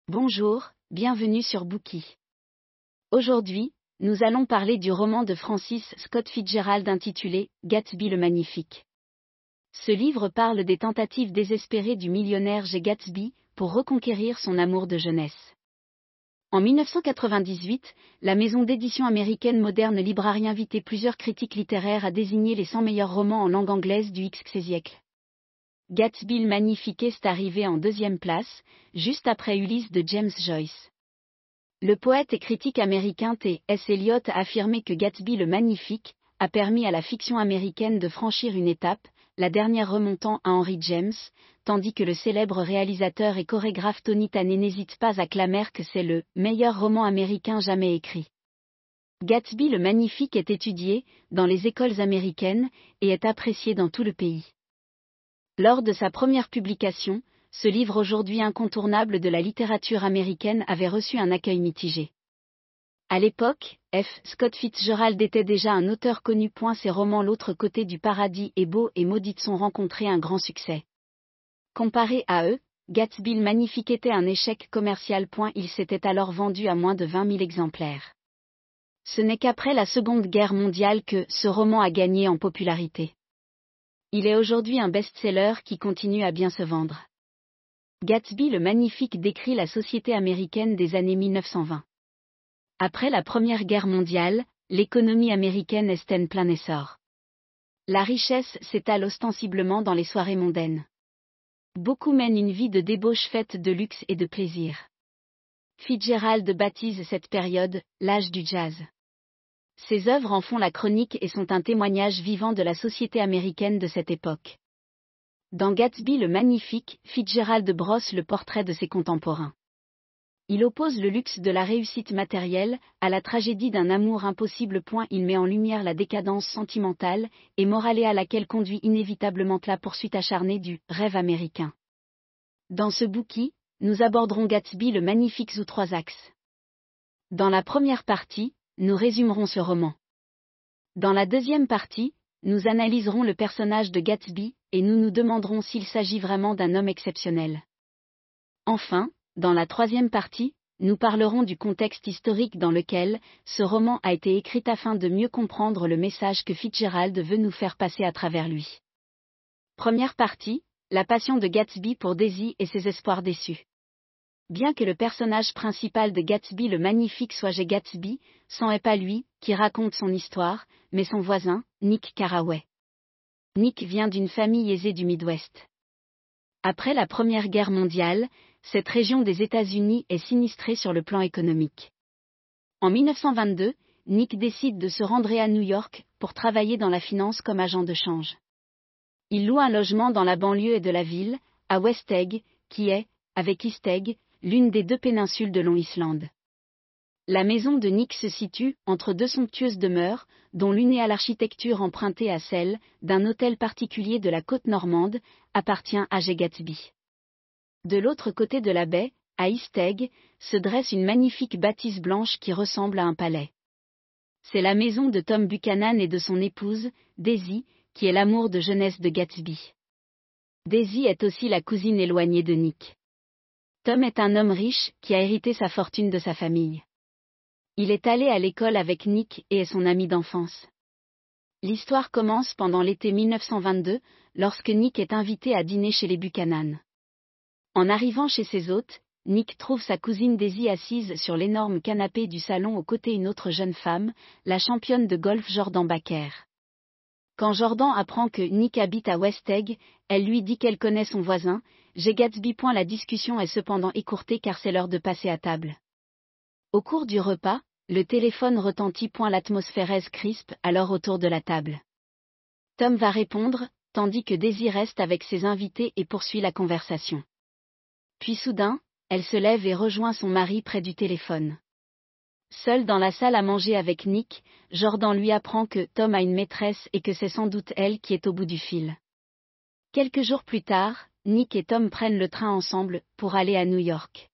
Bonjour, bienvenue sur Bookey. Aujourd'hui, nous allons parler du roman de Francis Scott Fitzgerald intitulé Gatsby le Magnifique. Ce livre parle des tentatives désespérées du millionnaire J. Gatsby pour reconquérir son amour de jeunesse. En 1998, la maison d'édition américaine Modern Library invitait plusieurs critiques littéraires à désigner les 100 meilleurs romans en langue anglaise du XXe siècle. Gatsby le Magnifique est arrivé en deuxième place, juste après Ulysse de James Joyce. Le poète et critique américain T.S. Eliot a affirmé que Gatsby le Magnifique a permis à la fiction américaine de franchir une étape, la dernière remontant à Henry James, tandis que le célèbre réalisateur et chorégraphe Tony Tanner n'hésite pas à clamer que c'est le meilleur roman américain jamais écrit. Gatsby le Magnifique est étudié dans les écoles américaines et est apprécié dans tout le pays. Lors de sa première publication, ce livre aujourd'hui incontournable de la littérature américaine avait reçu un accueil mitigé. À l'époque, F. Scott Fitzgerald était déjà un auteur connu. Ses romans L'autre côté du paradis et Beau et Maudite ont rencontré un grand succès. Comparé à eux, Gatsby le Magnifique était un échec commercial. Il s'était alors vendu à moins de 20 000 exemplaires. Ce n'est qu'après la Seconde Guerre mondiale que ce roman a gagné en popularité. Il est aujourd'hui un best-seller qui continue à bien se vendre. Gatsby le Magnifique décrit la société américaine des années 1920. Après la Première Guerre mondiale, l'économie américaine est en plein essor. La richesse s'étale ostensiblement dans les soirées mondaines. Beaucoup mènent une vie de débauche faite de luxe et de plaisir. Fitzgerald baptise cette période « l'âge du jazz ». Ses œuvres en font la chronique et sont un témoignage vivant de la société américaine de cette époque. Dans Gatsby le Magnifique, Fitzgerald brosse le portrait de ses contemporains. Il oppose le luxe de la réussite matérielle à la tragédie d'un amour impossible. Il met en lumière la décadence sentimentale et morale à laquelle conduit inévitablement la poursuite acharnée du rêve américain. Dans ce bouquin, nous aborderons Gatsby le Magnifique sous 3 axes. Dans la première partie, nous résumerons ce roman. Dans la deuxième partie, nous analyserons le personnage de Gatsby, et nous nous demanderons s'il s'agit vraiment d'un homme exceptionnel. Enfin, dans la troisième partie, nous parlerons du contexte historique dans lequel ce roman a été écrit afin de mieux comprendre le message que Fitzgerald veut nous faire passer à travers lui. Première partie, la passion de Gatsby pour Daisy et ses espoirs déçus. Bien que le personnage principal de Gatsby le Magnifique soit J. Gatsby, ce n'est pas lui qui raconte son histoire, mais son voisin, Nick Carraway. Nick vient d'une famille aisée du Midwest. Après la Première Guerre mondiale, cette région des États-Unis est sinistrée sur le plan économique. En 1922, Nick décide de se rendre à New York pour travailler dans la finance comme agent de change. Il loue un logement dans la banlieue de la ville, à West Egg, qui est, avec East Egg, l'une des 2 péninsules de Long Island. La maison de Nick se situe entre 2 somptueuses demeures, dont l'une est à l'architecture empruntée à celle d'un hôtel particulier de la côte normande, appartient à J. Gatsby. De l'autre côté de la baie, à East Egg, se dresse une magnifique bâtisse blanche qui ressemble à un palais. C'est la maison de Tom Buchanan et de son épouse, Daisy, qui est l'amour de jeunesse de Gatsby. Daisy est aussi la cousine éloignée de Nick. Tom est un homme riche qui a hérité sa fortune de sa famille. Il est allé à l'école avec Nick et est son ami d'enfance. L'histoire commence pendant l'été 1922, lorsque Nick est invité à dîner chez les Buchanan. En arrivant chez ses hôtes, Nick trouve sa cousine Daisy assise sur l'énorme canapé du salon aux côtés d'une autre jeune femme, la championne de golf Jordan Baker. Quand Jordan apprend que Nick habite à West Egg, elle lui dit qu'elle connaît son voisin, J. Gatsby. La discussion est cependant écourtée car c'est l'heure de passer à table. Au cours du repas, le téléphone retentit. L'atmosphère est crispe alors autour de la table. Tom va répondre, tandis que Daisy reste avec ses invités et poursuit la conversation. Puis soudain, elle se lève et rejoint son mari près du téléphone. Seul dans la salle à manger avec Nick, Jordan lui apprend que Tom a une maîtresse et que c'est sans doute elle qui est au bout du fil. Quelques jours plus tard, Nick et Tom prennent le train ensemble pour aller à New York.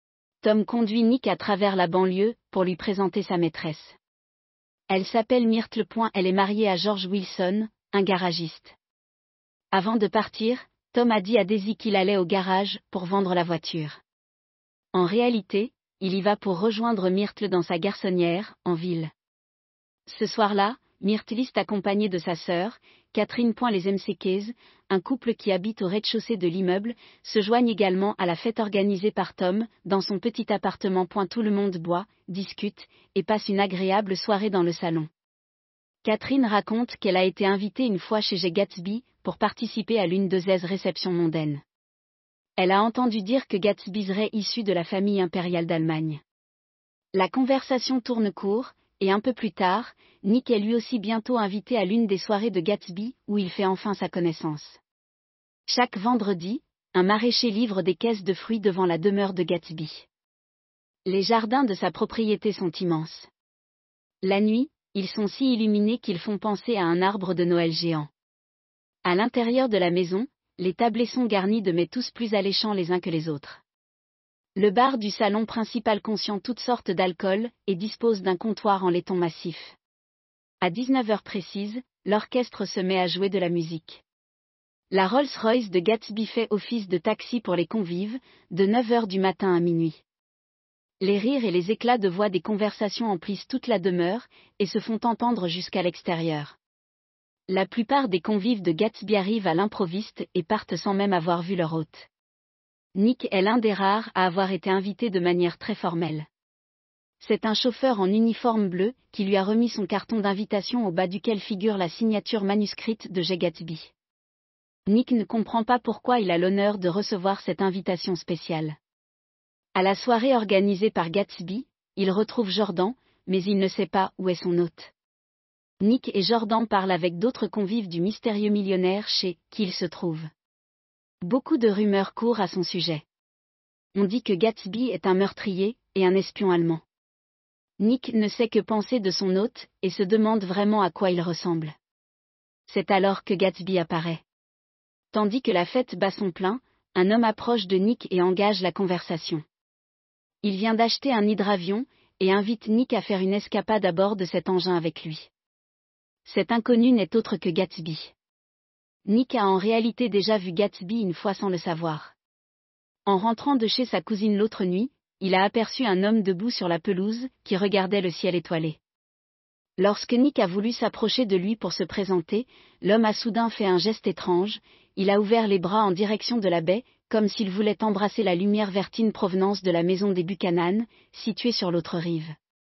Tom conduit Nick à travers la banlieue pour lui présenter sa maîtresse. Elle s'appelle Myrtle. Elle est mariée à George Wilson, un garagiste. Avant de partir, Tom a dit à Daisy qu'il allait au garage pour vendre la voiture. En réalité, il y va pour rejoindre Myrtle dans sa garçonnière, en ville. Ce soir-là, Myrtle est accompagnée de sa sœur, Catherine. Les McKays, un couple qui habite au rez-de-chaussée de l'immeuble, se joignent également à la fête organisée par Tom, dans son petit appartement. Tout le monde boit, discute, et passe une agréable soirée dans le salon. Catherine raconte qu'elle a été invitée une fois chez Gatsby, pour participer à l'une de ses réceptions mondaines. Elle a entendu dire que Gatsby serait issu de la famille impériale d'Allemagne. La conversation tourne court, et un peu plus tard, Nick est lui aussi bientôt invité à l'une des soirées de Gatsby, où il fait enfin sa connaissance. Chaque vendredi, un maraîcher livre des caisses de fruits devant la demeure de Gatsby. Les jardins de sa propriété sont immenses. La nuit, ils sont si illuminés qu'ils font penser à un arbre de Noël géant. À l'intérieur de la maison, les tablés sont garnis de mets tous plus alléchants les uns que les autres. Le bar du salon principal contient toutes sortes d'alcool, et dispose d'un comptoir en laiton massif. À 19h précises, l'orchestre se met à jouer de la musique. La Rolls-Royce de Gatsby fait office de taxi pour les convives, de 9h du matin à minuit. Les rires et les éclats de voix des conversations emplissent toute la demeure, et se font entendre jusqu'à l'extérieur. La plupart des convives de Gatsby arrivent à l'improviste et partent sans même avoir vu leur hôte. Nick est l'un des rares à avoir été invité de manière très formelle. C'est un chauffeur en uniforme bleu, qui lui a remis son carton d'invitation au bas duquel figure la signature manuscrite de J. Gatsby. Nick ne comprend pas pourquoi il a l'honneur de recevoir cette invitation spéciale. À la soirée organisée par Gatsby, il retrouve Jordan, mais il ne sait pas où est son hôte. Nick et Jordan parlent avec d'autres convives du mystérieux millionnaire chez qui il se trouve. Beaucoup de rumeurs courent à son sujet. On dit que Gatsby est un meurtrier, et un espion allemand. Nick ne sait que penser de son hôte, et se demande vraiment à quoi il ressemble. C'est alors que Gatsby apparaît. Tandis que la fête bat son plein, un homme approche de Nick et engage la conversation. Il vient d'acheter un hydravion, et invite Nick à faire une escapade à bord de cet engin avec lui. Cet inconnu n'est autre que Gatsby. Nick a en réalité déjà vu Gatsby une fois sans le savoir. En rentrant de chez sa cousine l'autre nuit, il a aperçu un homme debout sur la pelouse, qui regardait le ciel étoilé. Lorsque Nick a voulu s'approcher de lui pour se présenter, l'homme a soudain fait un geste étrange, il a ouvert les bras en direction de la baie, comme s'il voulait embrasser la lumière vertine provenance de la maison des Buchanan, située sur l'autre rive.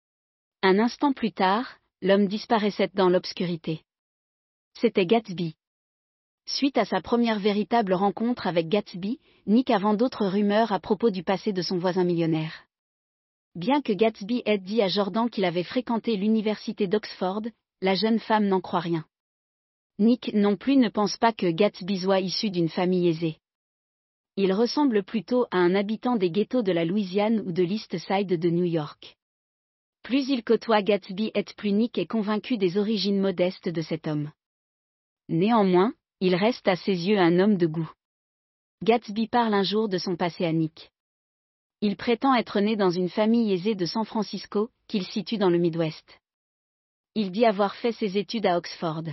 Un instant plus tard, l'homme disparaissait dans l'obscurité. C'était Gatsby. Suite à sa première véritable rencontre avec Gatsby, Nick a vent d'autres rumeurs à propos du passé de son voisin millionnaire. Bien que Gatsby ait dit à Jordan qu'il avait fréquenté l'université d'Oxford, la jeune femme n'en croit rien. Nick non plus ne pense pas que Gatsby soit issu d'une famille aisée. Il ressemble plutôt à un habitant des ghettos de la Louisiane ou de l'East Side de New York. Plus il côtoie Gatsby plus Nick est convaincu des origines modestes de cet homme. Néanmoins, il reste à ses yeux un homme de goût. Gatsby parle un jour de son passé à Nick. Il prétend être né dans une famille aisée de San Francisco, qu'il situe dans le Midwest. Il dit avoir fait ses études à Oxford.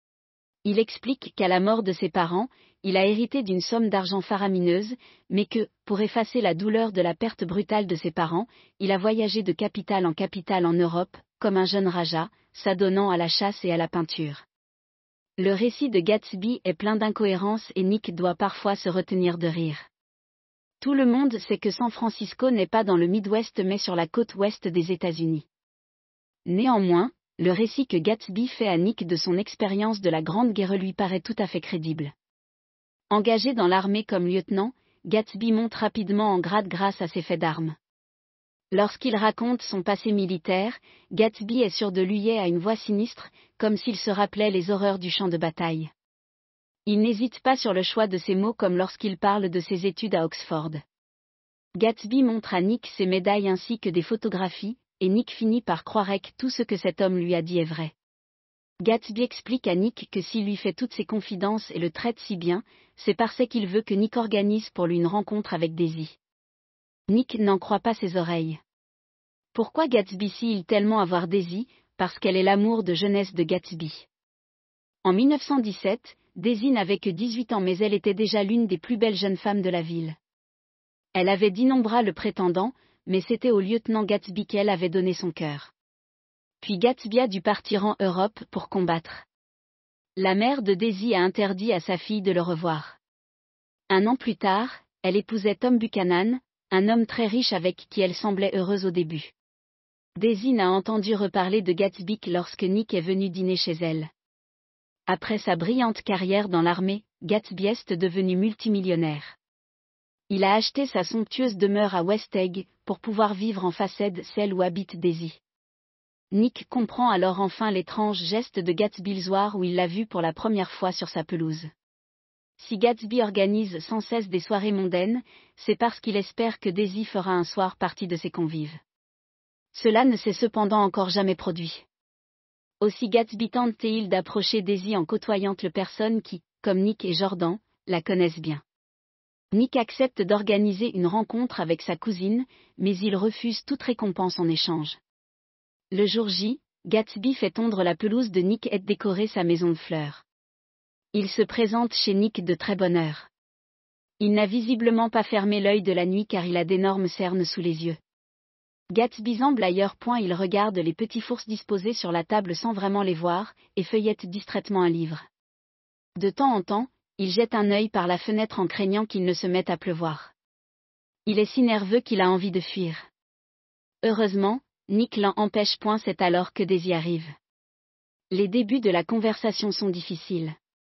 Il explique qu'à la mort de ses parents, il a hérité d'une somme d'argent faramineuse, mais que, pour effacer la douleur de la perte brutale de ses parents, il a voyagé de capitale en Europe, comme un jeune raja, s'adonnant à la chasse et à la peinture. Le récit de Gatsby est plein d'incohérences et Nick doit parfois se retenir de rire. Tout le monde sait que San Francisco n'est pas dans le Midwest mais sur la côte ouest des États-Unis. Néanmoins, le récit que Gatsby fait à Nick de son expérience de la Grande Guerre lui paraît tout à fait crédible. Engagé dans l'armée comme lieutenant, Gatsby monte rapidement en grade grâce à ses faits d'armes. Lorsqu'il raconte son passé militaire, Gatsby est sûr de lui à une voix sinistre, comme s'il se rappelait les horreurs du champ de bataille. Il n'hésite pas sur le choix de ses mots comme lorsqu'il parle de ses études à Oxford. Gatsby montre à Nick ses médailles ainsi que des photographies, et Nick finit par croire que tout ce que cet homme lui a dit est vrai. Gatsby explique à Nick que s'il lui fait toutes ses confidences et le traite si bien, c'est parce qu'il veut que Nick organise pour lui une rencontre avec Daisy. Nick n'en croit pas ses oreilles. Pourquoi Gatsby sait-il tellement avoir Daisy? Parce qu'elle est l'amour de jeunesse de Gatsby. En 1917, Daisy n'avait que 18 ans mais elle était déjà l'une des plus belles jeunes femmes de la ville. Elle avait d'innombrables prétendants, mais c'était au lieutenant Gatsby qu'elle avait donné son cœur. Puis Gatsby a dû partir en Europe pour combattre. La mère de Daisy a interdit à sa fille de le revoir. Un an plus tard, elle épousait Tom Buchanan, un homme très riche avec qui elle semblait heureuse au début. Daisy n'a entendu reparler de Gatsby que lorsque Nick est venu dîner chez elle. Après sa brillante carrière dans l'armée, Gatsby est devenu multimillionnaire. Il a acheté sa somptueuse demeure à West Egg, pour pouvoir vivre en façade celle où habite Daisy. Nick comprend alors enfin l'étrange geste de Gatsby le soir où il l'a vu pour la première fois sur sa pelouse. Si Gatsby organise sans cesse des soirées mondaines, c'est parce qu'il espère que Daisy fera un soir partie de ses convives. Cela ne s'est cependant encore jamais produit. Aussi Gatsby tente-t-il d'approcher Daisy en côtoyant les personnes qui, comme Nick et Jordan, la connaissent bien. Nick accepte d'organiser une rencontre avec sa cousine, mais il refuse toute récompense en échange. Le jour J, Gatsby fait tondre la pelouse de Nick et décorer sa maison de fleurs. Il se présente chez Nick de très bonne heure. Il n'a visiblement pas fermé l'œil de la nuit car il a d'énormes cernes sous les yeux. Gatsby semble ailleurs. Il regarde les petits fours disposés sur la table sans vraiment les voir, et feuillette distraitement un livre. De temps en temps, il jette un œil par la fenêtre en craignant qu'il ne se mette à pleuvoir. Il est si nerveux qu'il a envie de fuir. Heureusement, Nick l'en empêche. C'est alors que Daisy arrive. Les débuts de la conversation sont difficiles.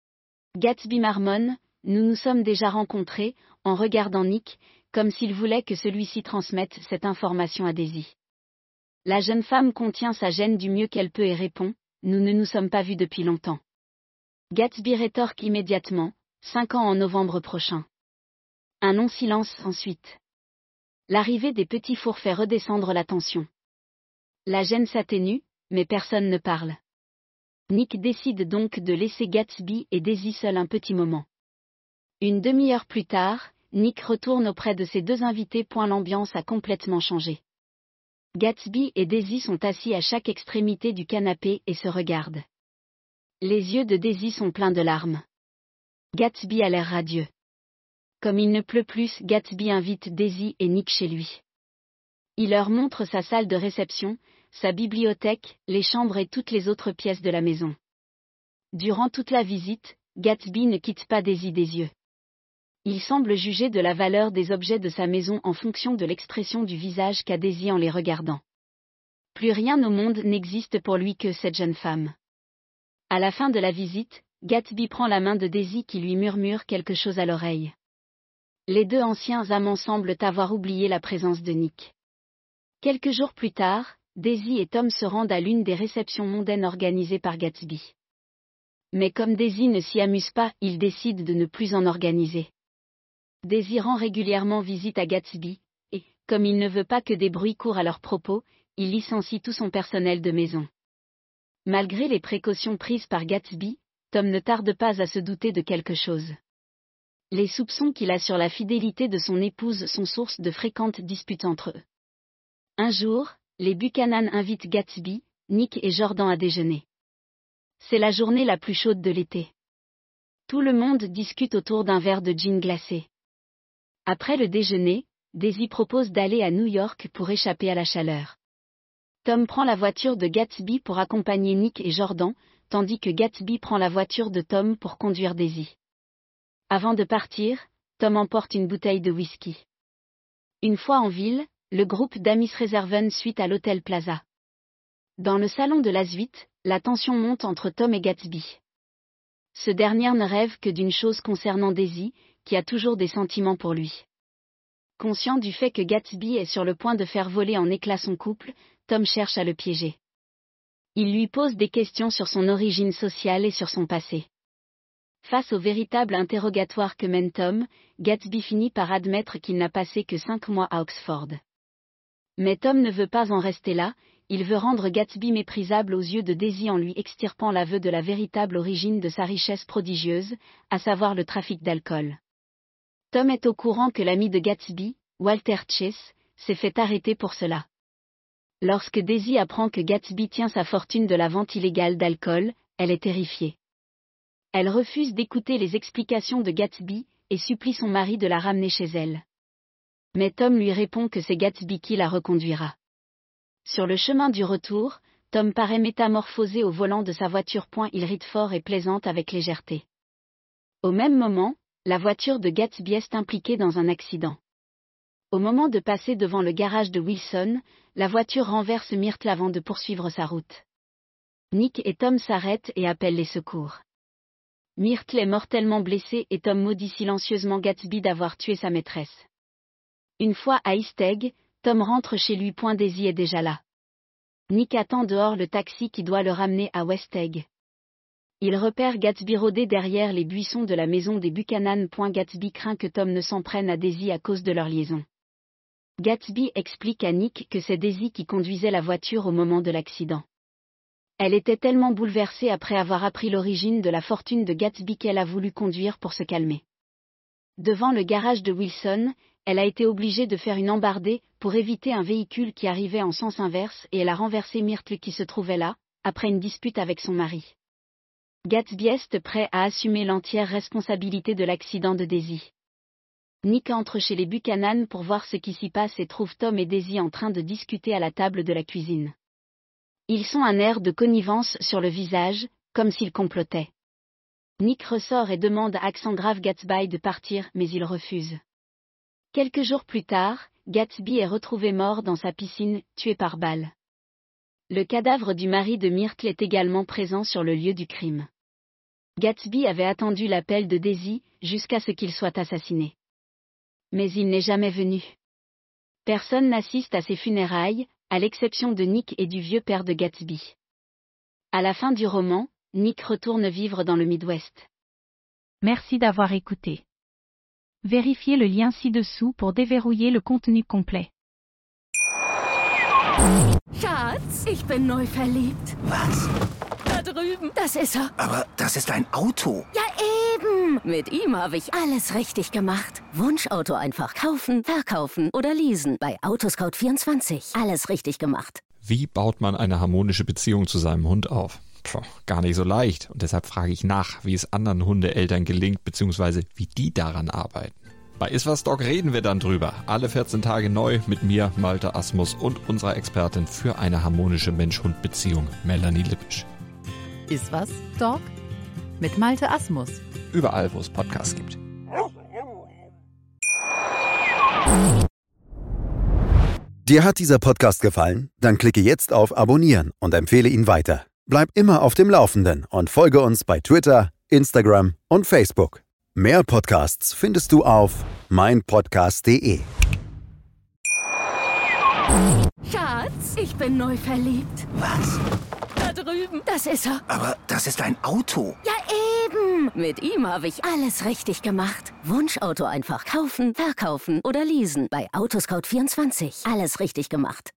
Gatsby marmonne, « Nous nous sommes déjà rencontrés », en regardant Nick, comme s'il voulait que celui-ci transmette cette information à Daisy. La jeune femme contient sa gêne du mieux qu'elle peut et répond, « Nous ne nous sommes pas vus depuis longtemps. » Gatsby rétorque immédiatement, « 5 ans en novembre prochain. » Un long silence ensuite. L'arrivée des petits fours fait redescendre la tension. La gêne s'atténue, mais personne ne parle. Nick décide donc de laisser Gatsby et Daisy seuls un petit moment. Une demi-heure plus tard, Nick retourne auprès de ses deux invités. L'ambiance a complètement changé. Gatsby et Daisy sont assis à chaque extrémité du canapé et se regardent. Les yeux de Daisy sont pleins de larmes. Gatsby a l'air radieux. Comme il ne pleut plus, Gatsby invite Daisy et Nick chez lui. Il leur montre sa salle de réception, sa bibliothèque, les chambres et toutes les autres pièces de la maison. Durant toute la visite, Gatsby ne quitte pas Daisy des yeux. Il semble juger de la valeur des objets de sa maison en fonction de l'expression du visage qu'a Daisy en les regardant. Plus rien au monde n'existe pour lui que cette jeune femme. À la fin de la visite, Gatsby prend la main de Daisy qui lui murmure quelque chose à l'oreille. Les deux anciens amants semblent avoir oublié la présence de Nick. Quelques jours plus tard, Daisy et Tom se rendent à l'une des réceptions mondaines organisées par Gatsby. Mais comme Daisy ne s'y amuse pas, ils décident de ne plus en organiser. Daisy rend régulièrement visite à Gatsby, et, comme il ne veut pas que des bruits courent à leur propos, il licencie tout son personnel de maison. Malgré les précautions prises par Gatsby, Tom ne tarde pas à se douter de quelque chose. Les soupçons qu'il a sur la fidélité de son épouse sont source de fréquentes disputes entre eux. Un jour, les Buchanan invitent Gatsby, Nick et Jordan à déjeuner. C'est la journée la plus chaude de l'été. Tout le monde discute autour d'un verre de gin glacé. Après le déjeuner, Daisy propose d'aller à New York pour échapper à la chaleur. Tom prend la voiture de Gatsby pour accompagner Nick et Jordan, tandis que Gatsby prend la voiture de Tom pour conduire Daisy. Avant de partir, Tom emporte une bouteille de whisky. Une fois en ville, le groupe d'amis se réserve une suite à l'hôtel Plaza. Dans le salon de la suite, la tension monte entre Tom et Gatsby. Ce dernier ne rêve que d'une chose concernant Daisy, qui a toujours des sentiments pour lui. Conscient du fait que Gatsby est sur le point de faire voler en éclats son couple, Tom cherche à le piéger. Il lui pose des questions sur son origine sociale et sur son passé. Face au véritable interrogatoire que mène Tom, Gatsby finit par admettre qu'il n'a passé que 5 mois à Oxford. Mais Tom ne veut pas en rester là, il veut rendre Gatsby méprisable aux yeux de Daisy en lui extirpant l'aveu de la véritable origine de sa richesse prodigieuse, à savoir le trafic d'alcool. Tom est au courant que l'ami de Gatsby, Walter Chase, s'est fait arrêter pour cela. Lorsque Daisy apprend que Gatsby tient sa fortune de la vente illégale d'alcool, elle est terrifiée. Elle refuse d'écouter les explications de Gatsby, et supplie son mari de la ramener chez elle. Mais Tom lui répond que c'est Gatsby qui la reconduira. Sur le chemin du retour, Tom paraît métamorphosé au volant de sa voiture. Il ride fort et plaisante avec légèreté. Au même moment, la voiture de Gatsby est impliquée dans un accident. Au moment de passer devant le garage de Wilson, la voiture renverse Myrtle avant de poursuivre sa route. Nick et Tom s'arrêtent et appellent les secours. Myrtle est mortellement blessée et Tom maudit silencieusement Gatsby d'avoir tué sa maîtresse. Une fois à East Egg, Tom rentre chez lui. Daisy est déjà là. Nick attend dehors le taxi qui doit le ramener à West Egg. Il repère Gatsby rôder derrière les buissons de la maison des Buchanan. Gatsby craint que Tom ne s'en prenne à Daisy à cause de leur liaison. Gatsby explique à Nick que c'est Daisy qui conduisait la voiture au moment de l'accident. Elle était tellement bouleversée après avoir appris l'origine de la fortune de Gatsby qu'elle a voulu conduire pour se calmer. Devant le garage de Wilson, elle a été obligée de faire une embardée pour éviter un véhicule qui arrivait en sens inverse et elle a renversé Myrtle qui se trouvait là, après une dispute avec son mari. Gatsby est prêt à assumer l'entière responsabilité de l'accident de Daisy. Nick entre chez les Buchanan pour voir ce qui s'y passe et trouve Tom et Daisy en train de discuter à la table de la cuisine. Ils ont un air de connivence sur le visage, comme s'ils complotaient. Nick ressort et demande à accent grave Gatsby de partir, mais il refuse. Quelques jours plus tard, Gatsby est retrouvé mort dans sa piscine, tué par balle. Le cadavre du mari de Myrtle est également présent sur le lieu du crime. Gatsby avait attendu l'appel de Daisy, jusqu'à ce qu'il soit assassiné. Mais il n'est jamais venu. Personne n'assiste à ses funérailles, à l'exception de Nick et du vieux père de Gatsby. À la fin du roman, Nick retourne vivre dans le Midwest. Merci d'avoir écouté. Vérifiez le lien ci-dessous pour déverrouiller le contenu complet. Schatz, ich bin neu verliebt. Was? Da drüben. Das ist er. Aber das ist ein Auto. Ja, eben. Mit ihm habe ich alles richtig gemacht. Wunschauto einfach kaufen, verkaufen oder leasen. Bei Autoscout24. Alles richtig gemacht. Wie baut man eine harmonische Beziehung zu seinem Hund auf? Gar nicht so leicht. Und deshalb frage ich nach, wie es anderen Hundeeltern gelingt, beziehungsweise wie die daran arbeiten. Bei Iswas Dog reden wir dann drüber. Alle 14 Tage neu mit mir, Malte Asmus und unserer Expertin für eine harmonische Mensch-Hund-Beziehung, Melanie Lippisch. Iswas Dog? Mit Malte Asmus. Überall, wo es Podcasts gibt. Dir hat dieser Podcast gefallen? Dann klicke jetzt auf Abonnieren und empfehle ihn weiter. Bleib immer auf dem Laufenden und folge uns bei Twitter, Instagram und Facebook. Mehr Podcasts findest du auf meinpodcast.de. Schatz, ich bin neu verliebt. Was? Da drüben. Das ist er. Aber das ist ein Auto. Ja, eben. Mit ihm habe ich alles richtig gemacht. Wunschauto einfach kaufen, verkaufen oder leasen. Bei Autoscout24. Alles richtig gemacht.